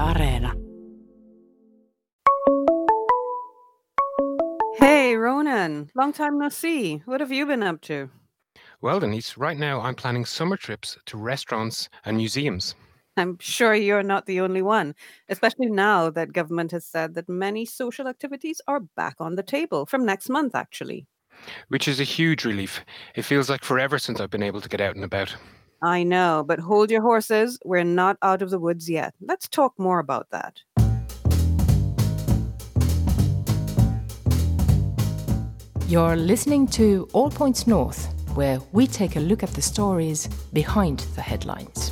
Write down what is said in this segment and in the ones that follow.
Areena. Hey, Ronan. Long time no see. What have you been up to? Well, Denise, right now I'm planning summer trips to restaurants and museums, I'm sure you're not the only one, especially now that government has said that many social activities are back on the table from next month, actually. which is a huge relief. It feels like forever since I've been able to get out and about. I know, but hold your horses. We're not out of the woods yet. Let's talk more about that. You're listening to All Points North, where we take a look at the stories behind the headlines.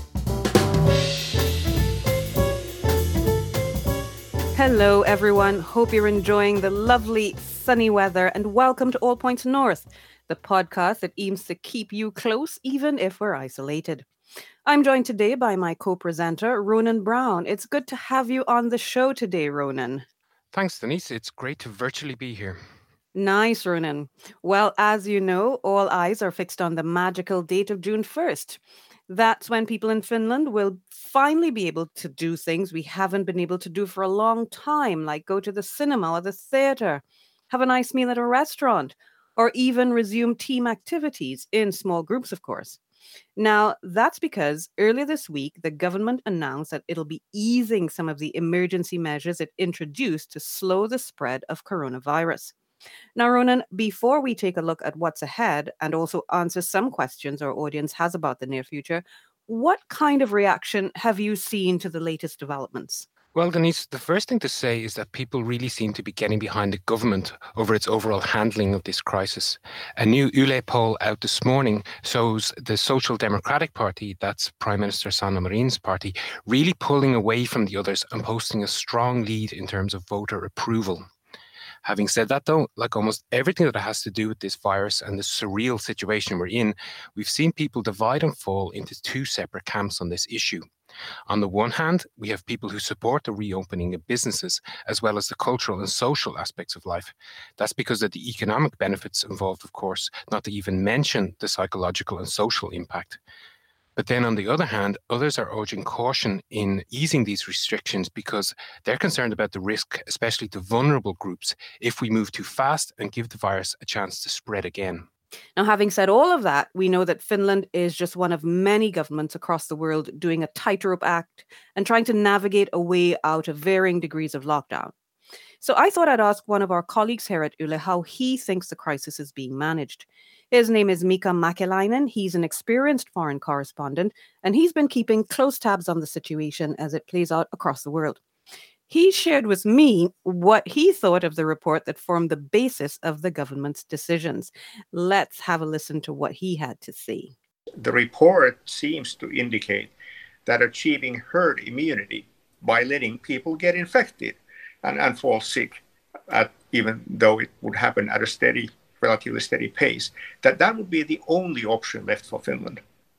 Hello, everyone. Hope you're enjoying the lovely sunny weather, and welcome to All Points North, the podcast that aims to keep you close even if we're isolated. I'm joined today by my co-presenter, Ronan Brown. It's good to have you on the show today, Ronan. Thanks, Denise. It's great to virtually be here. Nice, Ronan. Well, as you know, all eyes are fixed on the magical date of June 1st. That's when people in Finland will finally be able to do things we haven't been able to do for a long time, like go to the cinema or the theater, have a nice meal at a restaurant, or even resume team activities in small groups, of course. Now, that's because earlier this week, the government announced that it'll be easing some of the emergency measures it introduced to slow the spread of coronavirus. Now, Ronan, before we take a look at what's ahead and also answer some questions our audience has about the near future, what kind of reaction have you seen to the latest developments? Well, Denise, the first thing to say is that people really seem to be getting behind the government over its overall handling of this crisis. A new Yle poll out this morning shows the Social Democratic Party, that's Prime Minister Sanna Marin's party, really pulling away from the others and posting a strong lead in terms of voter approval. Having said that, though, like almost everything that has to do with this virus and the surreal situation we're in, we've seen people divide and fall into two separate camps on this issue. On the one hand, we have people who support the reopening of businesses, as well as the cultural and social aspects of life. That's because of the economic benefits involved, of course, not to even mention the psychological and social impact. But then on the other hand, others are urging caution in easing these restrictions because they're concerned about the risk, especially to vulnerable groups, if we move too fast and give the virus a chance to spread again. Now, having said all of that, we know that Finland is just one of many governments across the world doing a tightrope act and trying to navigate a way out of varying degrees of lockdown. So I thought I'd ask one of our colleagues here at Yle how he thinks the crisis is being managed. His name is Mika Mäkeläinen. He's an experienced foreign correspondent, and he's been keeping close tabs on the situation as it plays out across the world. He shared with me what he thought of the report that formed the basis of the government's decisions. Let's have a listen to what he had to say. The report seems to indicate that achieving herd immunity by letting people get infected and fall sick, even though it would happen at a relatively steady pace, that would be the only option left for Finland.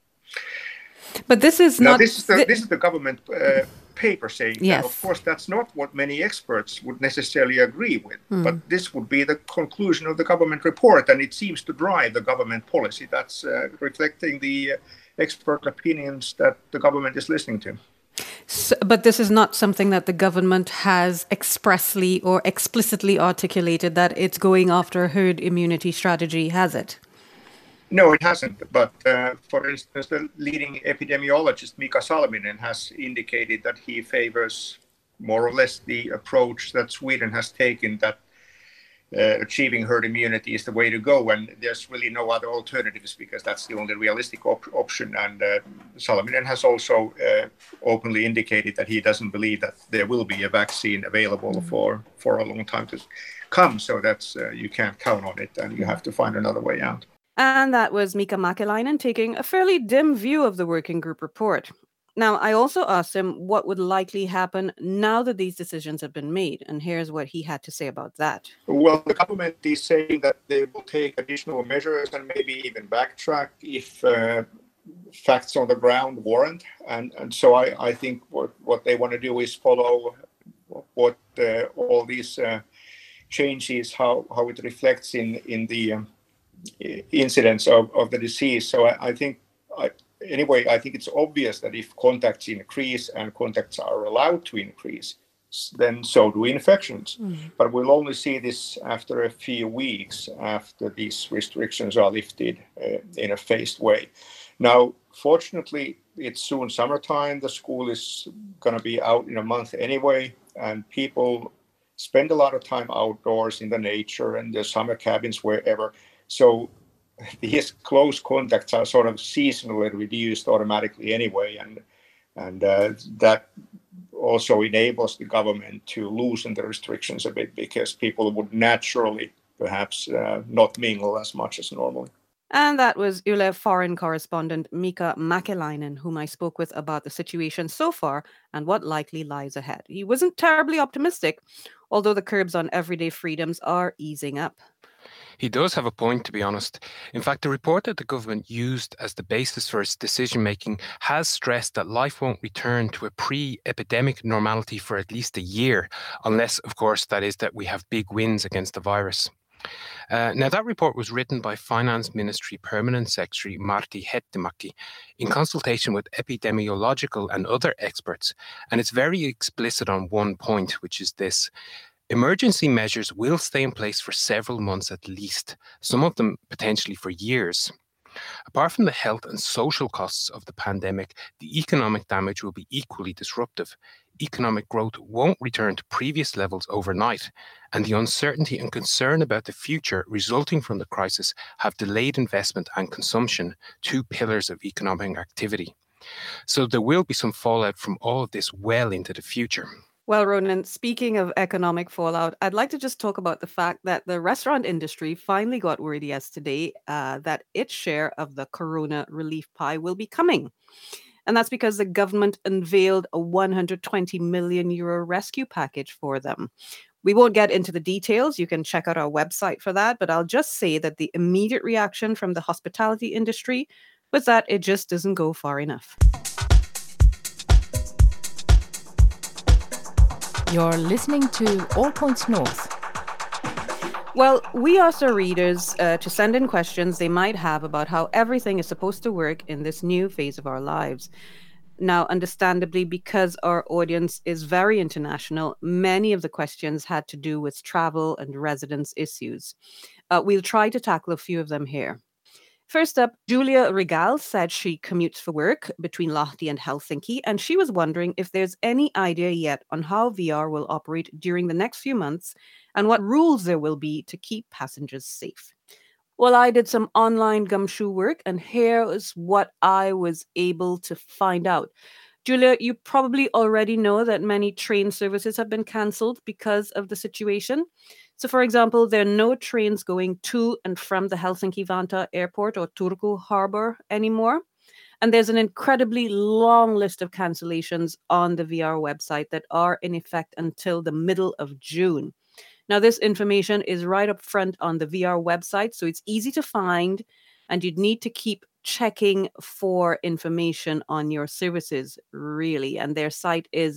But this is now, not... This is the government paper saying yes. that. Of course, that's not what many experts would necessarily agree with. But this would be the conclusion of the government report, and it seems to drive the government policy. That's reflecting the expert opinions that the government is listening to. So, but this is not something that the government has expressly or explicitly articulated that it's going after a herd immunity strategy, has it? No, it hasn't. But for instance, the leading epidemiologist Mika Salminen has indicated that he favors more or less the approach that Sweden has taken, that achieving herd immunity is the way to go, and there's really no other alternatives because that's the only realistic option. And Salminen has also openly indicated that he doesn't believe that there will be a vaccine available for a long time to come. So that's you can't count on it, and you have to find another way out. And that was Mika Mäkeläinen taking a fairly dim view of the working group report. Now, I also asked him what would likely happen now that these decisions have been made, and here's what he had to say about that. Well, the government is saying that they will take additional measures and maybe even backtrack if facts on the ground warrant. And so I think what they want to do is follow what all these changes, how it reflects in the incidence of the disease. So I think anyway, I think it's obvious that if contacts increase and contacts are allowed to increase, then so do infections. But we'll only see this after a few weeks after these restrictions are lifted in a phased way. Now, fortunately, it's soon summertime. The school is going to be out in a month anyway, and people spend a lot of time outdoors in the nature and the summer cabins wherever. So these close contacts are sort of seasonally reduced automatically anyway, and that also enables the government to loosen the restrictions a bit, because people would naturally perhaps not mingle as much as normally. And that was Yle foreign correspondent Mika Mäkeläinen, whom I spoke with about the situation so far and what likely lies ahead. He wasn't terribly optimistic, although the curbs on everyday freedoms are easing up. He does have a point, to be honest. In fact, the report that the government used as the basis for its decision-making has stressed that life won't return to a pre-epidemic normality for at least a year, unless, of course, that is that we have big wins against the virus. Now, that report was written by Finance Ministry Permanent Secretary Martti Hetemäki in consultation with epidemiological and other experts, and it's very explicit on one point, which is this. Emergency measures will stay in place for several months at least, some of them potentially for years. Apart from the health and social costs of the pandemic, the economic damage will be equally disruptive. Economic growth won't return to previous levels overnight, and the uncertainty and concern about the future resulting from the crisis have delayed investment and consumption, two pillars of economic activity. So there will be some fallout from all of this well into the future. Well, Ronan, speaking of economic fallout, I'd like to just talk about the fact that the restaurant industry finally got word yesterday that its share of the corona relief pie will be coming. And that's because the government unveiled a 120 million euro rescue package for them. We won't get into the details. You can check out our website for that. But I'll just say that the immediate reaction from the hospitality industry was that it just doesn't go far enough. You're listening to All Points North. Well, we asked our readers to send in questions they might have about how everything is supposed to work in this new phase of our lives. Now, understandably, because our audience is very international, many of the questions had to do with travel and residence issues. We'll try to tackle a few of them here. First up, Julia Regal said she commutes for work between Lahti and Helsinki, and she was wondering if there's any idea yet on how VR will operate during the next few months and what rules there will be to keep passengers safe. Well, I did some online gumshoe work, and here is what I was able to find out. Julia, you probably already know that many train services have been cancelled because of the situation. So, for example, there are no trains going to and from the Helsinki-Vantaa airport or Turku harbor anymore. And there's an incredibly long list of cancellations on the VR website that are in effect until the middle of June. Now, this information is right up front on the VR website, so it's easy to find, and you'd need to keep checking for information on your services, really. And their site is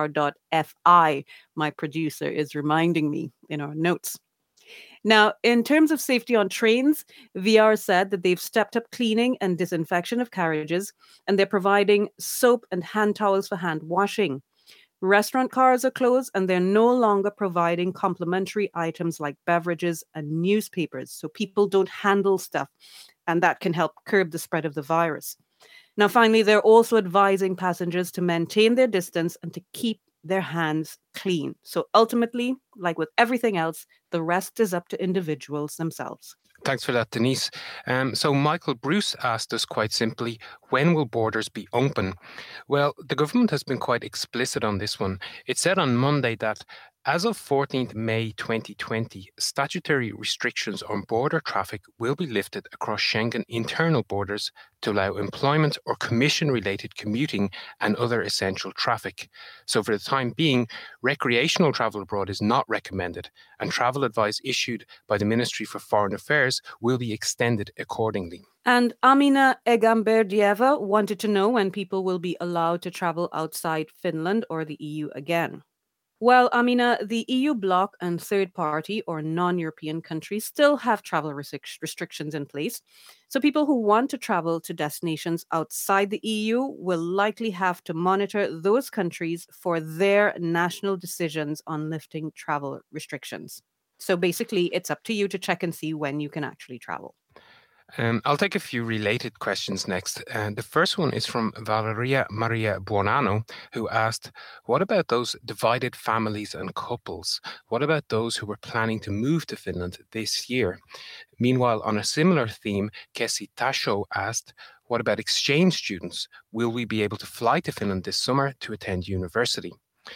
vr.fi. My producer is reminding me in our notes. Now, in terms of safety on trains, VR said that they've stepped up cleaning and disinfection of carriages, and they're providing soap and hand towels for hand washing. Restaurant cars are closed, and they're no longer providing complimentary items like beverages and newspapers, so people don't handle stuff, and that can help curb the spread of the virus. Now, finally, they're also advising passengers to maintain their distance and to keep their hands clean. So ultimately, like with everything else, the rest is up to individuals themselves. Thanks for that, Denise. So Michael Bruce asked us quite simply, when will borders be open? Well, the government has been quite explicit on this one. It said on Monday that as of 14th May 2020, statutory restrictions on border traffic will be lifted across Schengen internal borders to allow employment or commission-related commuting and other essential traffic. So for the time being, recreational travel abroad is not recommended, and travel advice issued by the Ministry for Foreign Affairs will be extended accordingly. And Amina Egamberdieva wanted to know when people will be allowed to travel outside Finland or the EU again. Well, Amina, the EU bloc and third party or non European countries still have travel restrictions in place. So, people who want to travel to destinations outside the EU will likely have to monitor those countries for their national decisions on lifting travel restrictions. So, basically, it's up to you to check and see when you can actually travel. I'll take a few related questions next. The first one is from Valeria Maria Buonanno, who asked, what about those divided families and couples? What about those who were planning to move to Finland this year? Meanwhile, on a similar theme, Kessi Tasho asked, what about exchange students? Will we be able to fly to Finland this summer to attend university?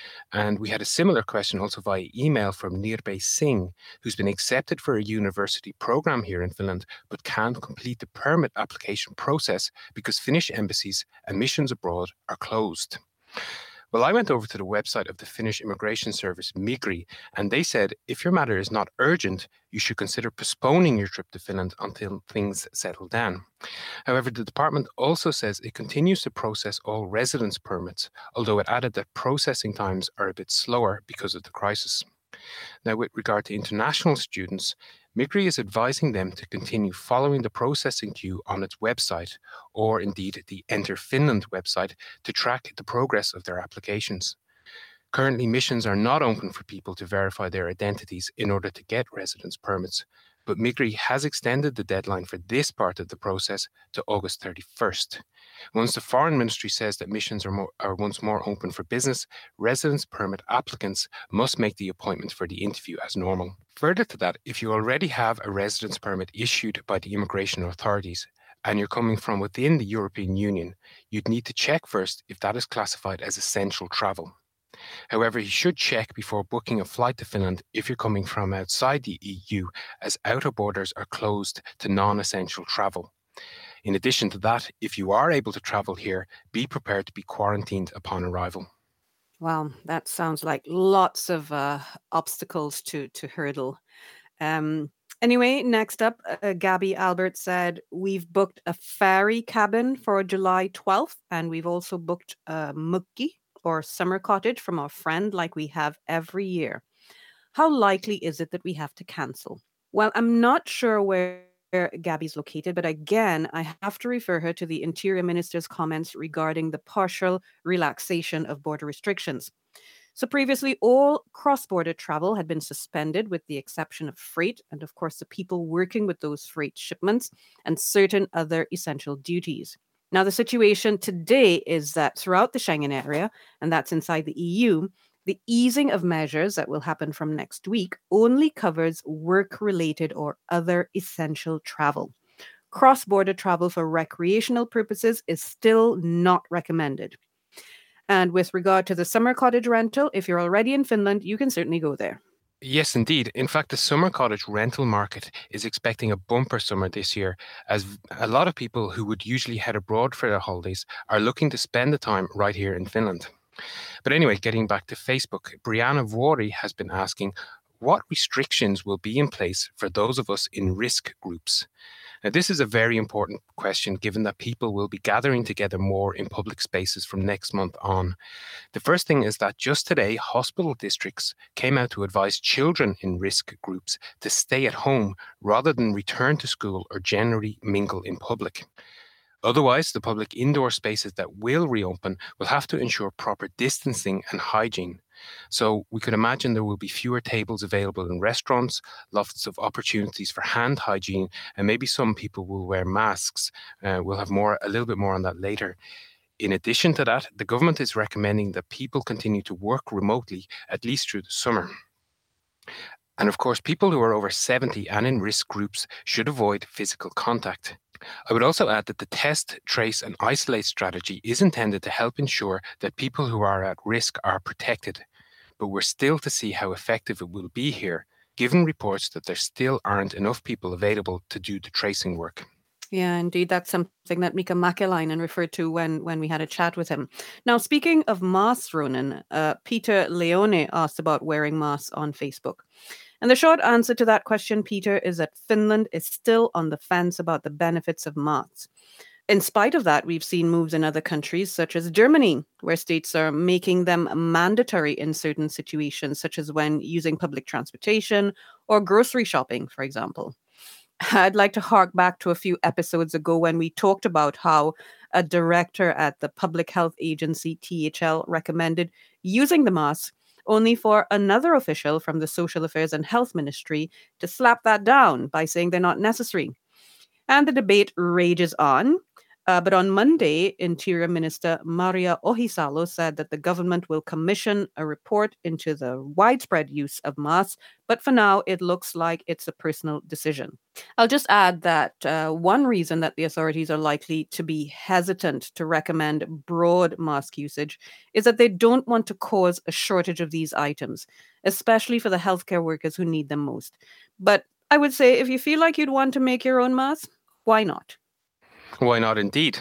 And we had a similar question also via email from Nirbhay Singh, who's been accepted for a university program here in Finland, but can't complete the permit application process because Finnish embassies and missions abroad are closed. Well, I went over to the website of the Finnish immigration service, Migri, and they said if your matter is not urgent, you should consider postponing your trip to Finland until things settle down. However, the department also says it continues to process all residence permits, although it added that processing times are a bit slower because of the crisis. Now, with regard to international students, Migri is advising them to continue following the processing queue on its website, or indeed the Enter Finland website, to track the progress of their applications. Currently, missions are not open for people to verify their identities in order to get residence permits, but Migri has extended the deadline for this part of the process to August 31st. Once the Foreign Ministry says that missions are once more open for business, residence permit applicants must make the appointment for the interview as normal. Further to that, if you already have a residence permit issued by the immigration authorities, and you're coming from within the European Union, you'd need to check first if that is classified as essential travel. However, you should check before booking a flight to Finland if you're coming from outside the EU, as outer borders are closed to non-essential travel. In addition to that, if you are able to travel here, be prepared to be quarantined upon arrival. Wow, that sounds like lots of obstacles to hurdle. Anyway, next up, Gabby Albert said, we've booked a ferry cabin for July 12th, and we've also booked a mukki, or summer cottage, from our friend like we have every year. How likely is it that we have to cancel? Well, I'm not sure where Gabby's located, but again, I have to refer her to the Interior Minister's comments regarding the partial relaxation of border restrictions. So previously, all cross-border travel had been suspended with the exception of freight and, of course, the people working with those freight shipments and certain other essential duties. Now, the situation today is that throughout the Schengen area, and that's inside the EU, the easing of measures that will happen from next week only covers work-related or other essential travel. Cross-border travel for recreational purposes is still not recommended. And with regard to the summer cottage rental, if you're already in Finland, you can certainly go there. Yes, indeed. In fact, the summer cottage rental market is expecting a bumper summer this year, as a lot of people who would usually head abroad for their holidays are looking to spend the time right here in Finland. But anyway, getting back to Facebook, Brianna Vuori has been asking, what restrictions will be in place for those of us in risk groups? Now, this is a very important question given that people will be gathering together more in public spaces from next month on. The first thing is that just today, hospital districts came out to advise children in risk groups to stay at home rather than return to school or generally mingle in public. Otherwise, the public indoor spaces that will reopen will have to ensure proper distancing and hygiene. So we could imagine there will be fewer tables available in restaurants, lots of opportunities for hand hygiene, and maybe some people will wear masks. We'll have a little bit more on that later. In addition to that, the government is recommending that people continue to work remotely, at least through the summer. And of course, people who are over 70 and in risk groups should avoid physical contact. I would also add that the test, trace and isolate strategy is intended to help ensure that people who are at risk are protected. But we're still to see how effective it will be here, given reports that there still aren't enough people available to do the tracing work. Yeah, indeed. That's something that Mika Mäkeläinen referred to when we had a chat with him. Now, speaking of masks, Ronan, Peter Leone asked about wearing masks on Facebook. And the short answer to that question, Peter, is that Finland is still on the fence about the benefits of masks. In spite of that, we've seen moves in other countries, such as Germany, where states are making them mandatory in certain situations, such as when using public transportation or grocery shopping, for example. I'd like to hark back to a few episodes ago when we talked about how a director at the Public Health Agency, THL, recommended using the mask, only for another official from the Social Affairs and Health Ministry to slap that down by saying they're not necessary. And the debate rages on. But on Monday, Interior Minister Maria Ohisalo said that the government will commission a report into the widespread use of masks, but for now, it looks like it's a personal decision. I'll just add that one reason that the authorities are likely to be hesitant to recommend broad mask usage is that they don't want to cause a shortage of these items, especially for the healthcare workers who need them most. But I would say if you feel like you'd want to make your own mask, why not? Why not indeed?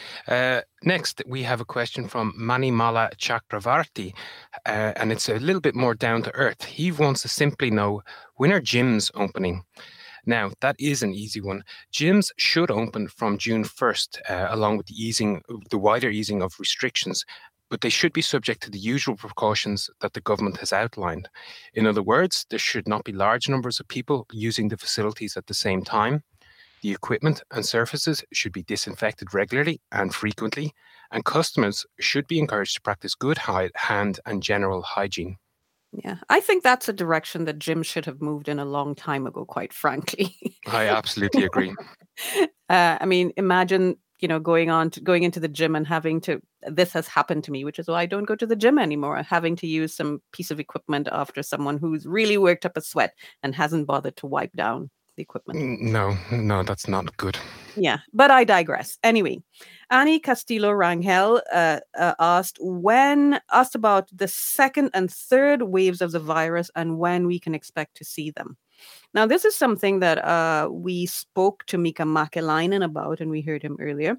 Next, we have a question from Manimala Chakravarti, and it's a little bit more down to earth. He wants to simply know, when are gyms opening? Now, that is an easy one. Gyms should open from June 1st, along with the wider easing of restrictions, but they should be subject to the usual precautions that the government has outlined. In other words, there should not be large numbers of people using the facilities at the same time. The equipment and surfaces should be disinfected regularly and frequently, and customers should be encouraged to practice good hand and general hygiene. Yeah, I think that's a direction that gyms should have moved in a long time ago, quite frankly. I absolutely agree. I mean, imagine, going into the gym and this has happened to me, which is why I don't go to the gym anymore, having to use some piece of equipment after someone who's really worked up a sweat and hasn't bothered to wipe down the equipment. No, that's not good. Yeah, but I digress. Anyway, Annie Castillo Rangel asked about the second and third waves of the virus and when we can expect to see them. Now, this is something that we spoke to Mika Mäkeläinen about, and we heard him earlier.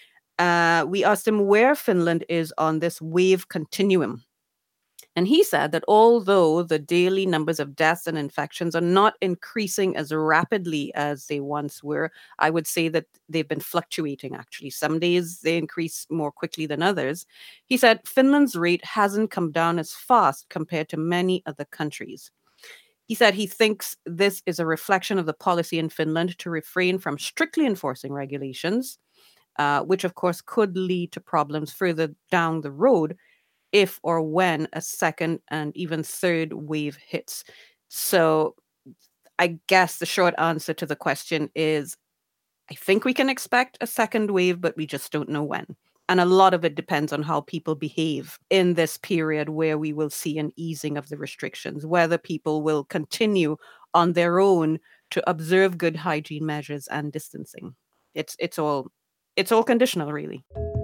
We asked him where Finland is on this wave continuum. And he said that although the daily numbers of deaths and infections are not increasing as rapidly as they once were, I would say that they've been fluctuating, actually. Some days they increase more quickly than others. He said Finland's rate hasn't come down as fast compared to many other countries. He said he thinks this is a reflection of the policy in Finland to refrain from strictly enforcing regulations, which of course could lead to problems further down the road if or when a second and even third wave hits. So I guess the short answer to the question is, I think we can expect a second wave, but we just don't know when. And a lot of it depends on how people behave in this period where we will see an easing of the restrictions, whether people will continue on their own to observe good hygiene measures and distancing. It's all conditional, really.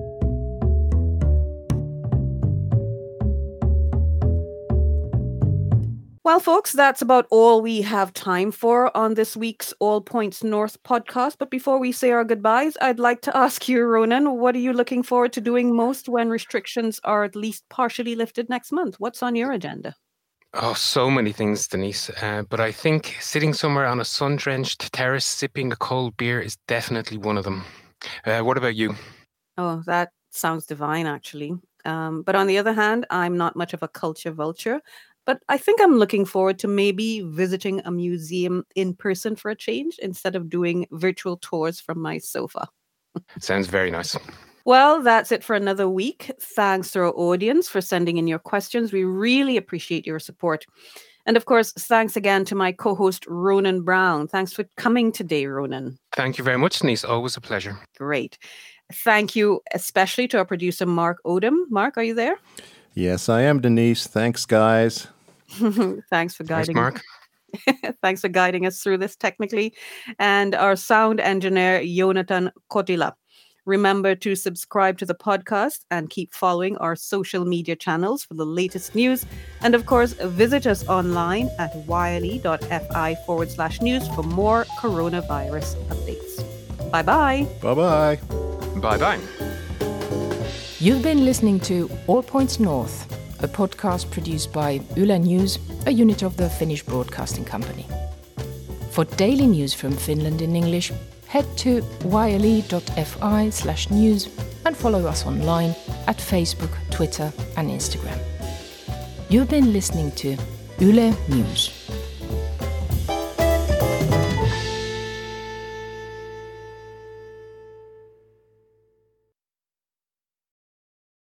Well, folks, that's about all we have time for on this week's All Points North podcast. But before we say our goodbyes, I'd like to ask you, Ronan, what are you looking forward to doing most when restrictions are at least partially lifted next month? What's on your agenda? Oh, so many things, Denise. But I think sitting somewhere on a sun-drenched terrace sipping a cold beer is definitely one of them. What about you? Oh, that sounds divine, actually. But on the other hand, I'm not much of a culture vulture. But I think I'm looking forward to maybe visiting a museum in person for a change instead of doing virtual tours from my sofa. Sounds very nice. Well, that's it for another week. Thanks to our audience for sending in your questions. We really appreciate your support. And of course, thanks again to my co-host, Ronan Brown. Thanks for coming today, Ronan. Thank you very much, Denise. Always a pleasure. Great. Thank you especially to our producer, Mark Odom. Mark, are you there? Yes, I am, Denise. Thanks, guys. Thanks for guiding. Mark. Thanks for guiding us through this technically. And our sound engineer, Jonathan Kotila. Remember to subscribe to the podcast and keep following our social media channels for the latest news. And of course, visit us online at yle.fi/news for more coronavirus updates. Bye-bye. Bye-bye. Bye-bye. You've been listening to All Points North, a podcast produced by Yle News, a unit of the Finnish Broadcasting Company. For daily news from Finland in English, head to yle.fi/news and follow us online at Facebook, Twitter and Instagram. You've been listening to Yle News.